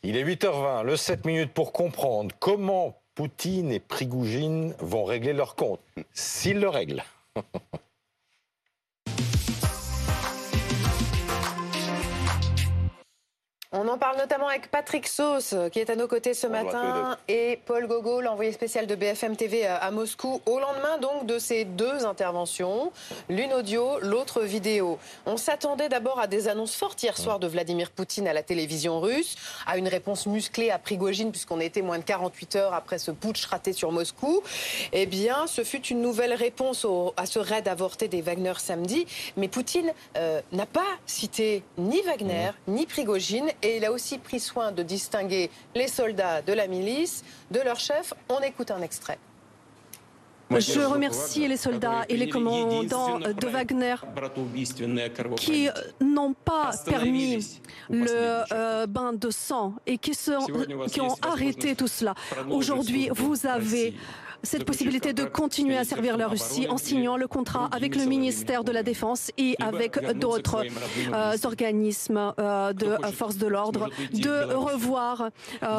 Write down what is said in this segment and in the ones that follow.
Il est 8h20, le 7 minutes pour comprendre comment Poutine et Prigoujine vont régler leur compte, s'ils le règlent. On en parle notamment avec Patrick Sauce, qui est à nos côtés ce matin, et Paul Gogol, l'envoyé spécial de BFM TV à Moscou, au lendemain donc de ces deux interventions, l'une audio, l'autre vidéo. On s'attendait d'abord à des annonces fortes hier soir de Vladimir Poutine à la télévision russe, à une réponse musclée à Prigoujine, puisqu'on était moins de 48 heures après ce putsch raté sur Moscou. Eh bien, ce fut une nouvelle réponse à ce raid avorté des Wagner samedi, mais Poutine n'a pas cité ni Wagner, ni Prigoujine, et il a aussi pris soin de distinguer les soldats de la milice de leur chef. On écoute un extrait. Je remercie les soldats et les commandants de Wagner qui n'ont pas permis le bain de sang et qui ont arrêté tout cela. Aujourd'hui, vous avez cette possibilité de continuer à servir la Russie en signant le contrat avec le ministère de la Défense et avec d'autres organismes de forces de l'ordre, de revoir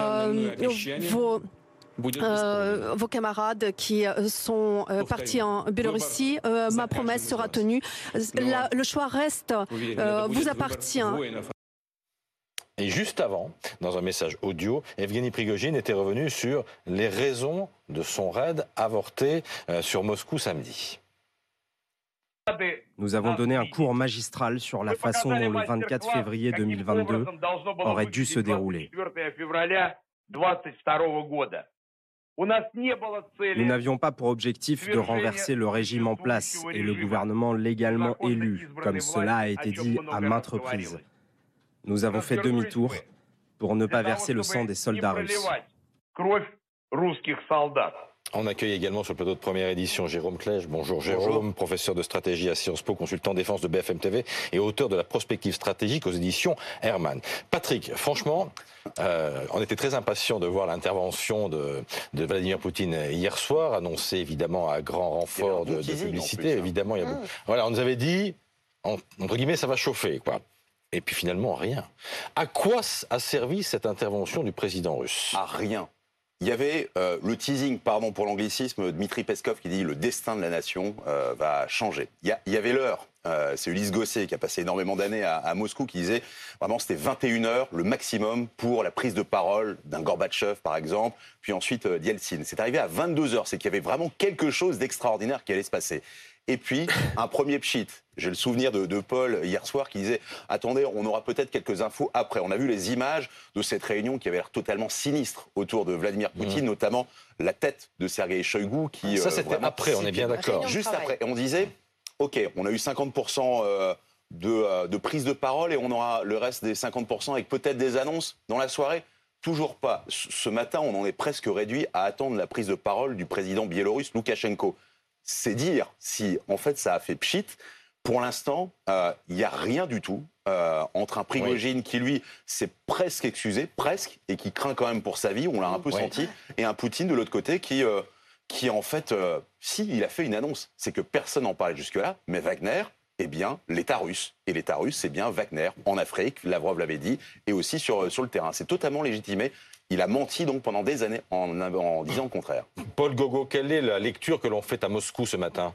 vos camarades qui sont partis en Biélorussie. Ma promesse sera tenue. Le choix reste, vous appartient. Et juste avant, dans un message audio, Evgeny Prigoujine était revenu sur les raisons de son raid avorté sur Moscou samedi. Nous avons donné un cours magistral sur la façon dont le 24 février 2022 aurait dû se dérouler. Nous n'avions pas pour objectif de renverser le régime en place et le gouvernement légalement élu, comme cela a été dit à maintes reprises. Nous avons fait demi-tour pour ne pas verser le sang des soldats russes. On accueille également sur le plateau de première édition Jérôme Clèche. Bonjour Jérôme, professeur de stratégie à Sciences Po, consultant défense de BFM TV et auteur de la prospective stratégique aux éditions Hermann. Patrick, franchement, on était très impatients de voir l'intervention de Vladimir Poutine hier soir, annoncée évidemment à grand renfort de publicité. Évidemment, il y a voilà, on nous avait dit, entre guillemets, ça va chauffer, quoi. Et puis finalement, rien. À quoi a servi cette intervention du président russe? À rien. Il y avait le teasing, pardon pour l'anglicisme, Dmitri Peskov qui dit le destin de la nation va changer. Il y avait l'heure. C'est Ulysse Gosset qui a passé énormément d'années à Moscou qui disait vraiment c'était 21 heures le maximum pour la prise de parole d'un Gorbatchev par exemple, puis ensuite d'Yeltsin. C'est arrivé à 22 heures, c'est qu'il y avait vraiment quelque chose d'extraordinaire qui allait se passer. Et puis, un premier pchit. J'ai le souvenir de Paul hier soir qui disait « Attendez, on aura peut-être quelques infos après ». On a vu les images de cette réunion qui avait l'air totalement sinistre autour de Vladimir Poutine, notamment la tête de Sergueï Shoigu qui... Ça, c'était après, on est bien d'accord. Juste après. Et on disait « Ok, on a eu 50% de prise de parole et on aura le reste des 50% avec peut-être des annonces dans la soirée ». Toujours pas. Ce matin, on en est presque réduit à attendre la prise de parole du président biélorusse Loukachenko. C'est dire si, en fait, ça a fait pchit. Pour l'instant, il n'y a rien du tout entre un Prigoujine qui, lui, s'est presque excusé, presque, et qui craint quand même pour sa vie, on l'a un peu senti, et un Poutine de l'autre côté qui en fait, si, il a fait une annonce. C'est que personne n'en parlait jusque-là, mais Wagner, eh bien, l'État russe. Et l'État russe, c'est bien Wagner, en Afrique, Lavrov l'avait dit, et aussi sur le terrain. C'est totalement légitimé. Il a menti donc pendant des années en disant le contraire. Paul Gogol, quelle est la lecture que l'on fait à Moscou ce matin?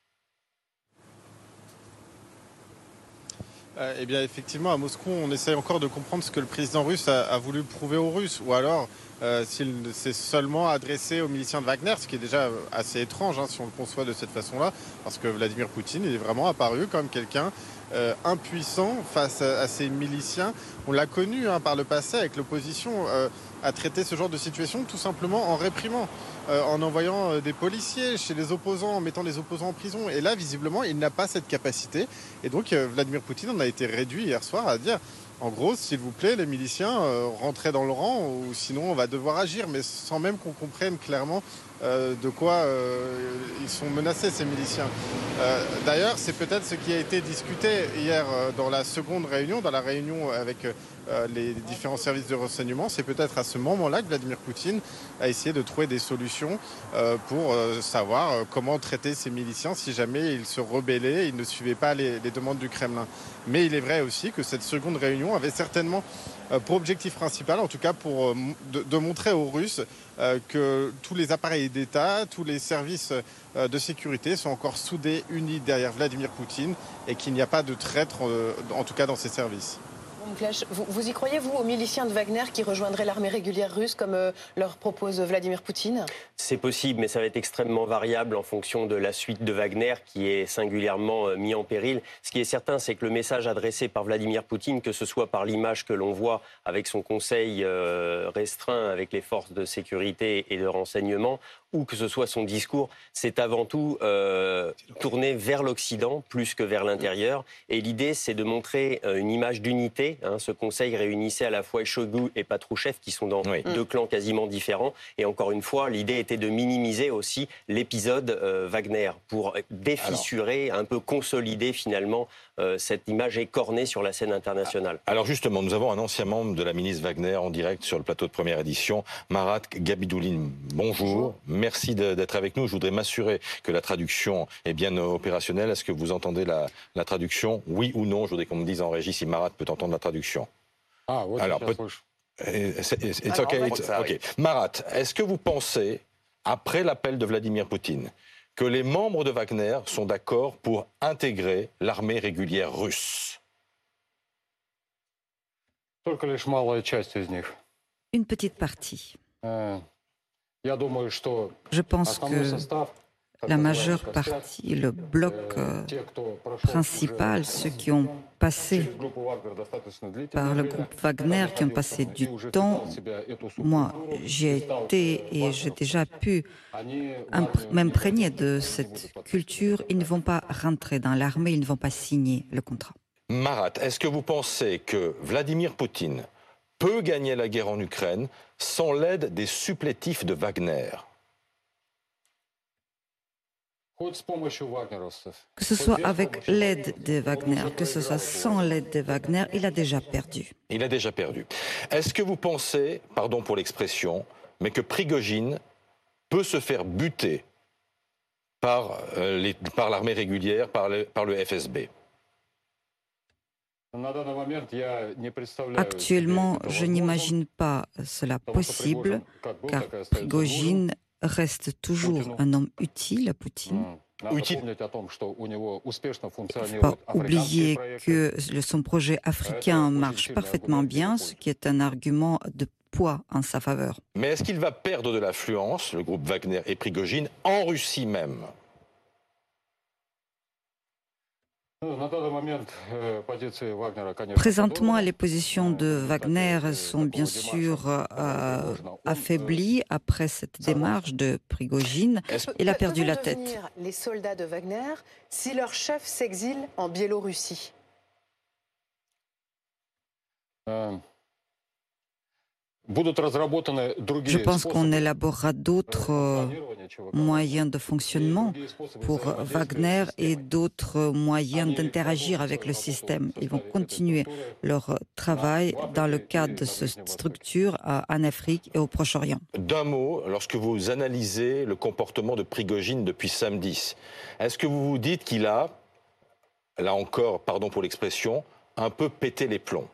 Eh bien, effectivement, à Moscou, on essaye encore de comprendre ce que le président russe a voulu prouver aux Russes. Ou alors, s'il s'est seulement adressé aux miliciens de Wagner, ce qui est déjà assez étrange, si on le conçoit de cette façon-là. Parce que Vladimir Poutine, il est vraiment apparu comme quelqu'un impuissant face à ces miliciens. On l'a connu par le passé avec l'opposition à traiter ce genre de situation tout simplement en réprimant, en envoyant des policiers chez les opposants, en mettant les opposants en prison. Et là, visiblement, il n'a pas cette capacité. Et donc, Vladimir Poutine en a été réduit hier soir à dire, en gros, s'il vous plaît, les miliciens, rentrez dans le rang, ou sinon on va devoir agir, mais sans même qu'on comprenne clairement de quoi ils sont menacés, ces miliciens. D'ailleurs, c'est peut-être ce qui a été discuté hier dans la seconde réunion, dans la réunion avec les différents services de renseignement. C'est peut-être à ce moment-là que Vladimir Poutine a essayé de trouver des solutions pour savoir comment traiter ces miliciens si jamais ils se rebellaient, ils ne suivaient pas les demandes du Kremlin. Mais il est vrai aussi que cette seconde réunion avait certainement pour objectif principal, en tout cas pour de montrer aux Russes que tous les appareils d'État, tous les services de sécurité sont encore soudés, unis derrière Vladimir Poutine et qu'il n'y a pas de traître, en tout cas dans ces services. Vous y croyez, vous, aux miliciens de Wagner qui rejoindraient l'armée régulière russe comme leur propose Vladimir Poutine? C'est possible, mais ça va être extrêmement variable en fonction de la suite de Wagner qui est singulièrement mis en péril. Ce qui est certain, c'est que le message adressé par Vladimir Poutine, que ce soit par l'image que l'on voit avec son conseil restreint avec les forces de sécurité et de renseignement, ou que ce soit son discours, c'est avant tout tourné vers l'Occident plus que vers l'intérieur. Et l'idée, c'est de montrer une image d'unité. Ce conseil réunissait à la fois Shoigu et Patrouchev, qui sont dans deux clans quasiment différents. Et encore une fois, l'idée était de minimiser aussi l'épisode Wagner pour défissurer, un peu consolider finalement cette image écornée sur la scène internationale. Alors justement, nous avons un ancien membre de la milice Wagner en direct sur le plateau de Première Édition, Marat Gabidouline. Bonjour. Merci d'être avec nous. Je voudrais m'assurer que la traduction est bien opérationnelle. Est-ce que vous entendez la traduction? Oui ou non? Je voudrais qu'on me dise en régie si Marat peut entendre la traduction. Ah, ouais, alors, it's okay. Marat, est-ce que vous pensez, après l'appel de Vladimir Poutine, que les membres de Wagner sont d'accord pour intégrer l'armée régulière russe? Une petite partie. Je pense que la majeure partie, le bloc principal, ceux qui ont passé par le groupe Wagner, qui ont passé du temps, moi j'y ai été et j'ai déjà pu m'imprégner de cette culture. Ils ne vont pas rentrer dans l'armée, ils ne vont pas signer le contrat. Marat, est-ce que vous pensez que Vladimir Poutine peut gagner la guerre en Ukraine sans l'aide des supplétifs de Wagner? Que ce soit avec l'aide de Wagner, que ce soit sans l'aide de Wagner, il a déjà perdu. Il a déjà perdu. Est-ce que vous pensez, pardon pour l'expression, mais que Prigojine peut se faire buter par l'armée régulière, par le FSB? Actuellement, je n'imagine pas cela possible, car Prigojine reste toujours un homme utile à Poutine. Il ne faut pas oublier que son projet africain marche parfaitement bien, ce qui est un argument de poids en sa faveur. Mais est-ce qu'il va perdre de l'influence, le groupe Wagner et Prigojine, en Russie même? Présentement, les positions de Wagner sont bien sûr affaiblies après cette démarche de Prigojine. Il a perdu la tête. Les soldats de Wagner, si leur chef s'exile en Biélorussie? Je pense qu'on élaborera d'autres moyens de fonctionnement pour Wagner et d'autres moyens d'interagir avec le système. Ils vont continuer leur travail dans le cadre de cette structure en Afrique et au Proche-Orient. D'un mot, lorsque vous analysez le comportement de Prigojine depuis samedi, est-ce que vous vous dites qu'il a, là encore, pardon pour l'expression, un peu pété les plombs?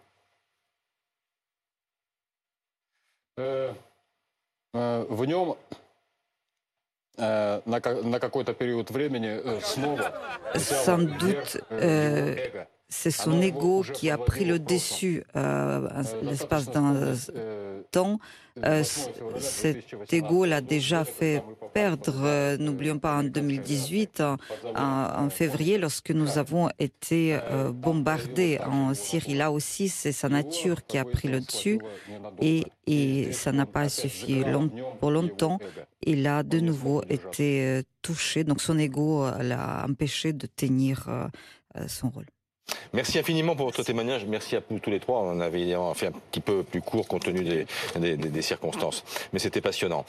Sans doute, c'est son ego qui a pris le dessus l'espace d'un temps. Cet ego l'a déjà fait perdre, n'oublions pas, en 2018, en février, lorsque nous avons été bombardés en Syrie. Là aussi, c'est sa nature qui a pris le dessus et ça n'a pas suffi pour longtemps. Il a de nouveau été touché, donc son ego l'a empêché de tenir son rôle. Merci infiniment pour votre témoignage. Merci à nous tous les trois. On avait fait un petit peu plus court compte tenu des circonstances. Mais c'était passionnant.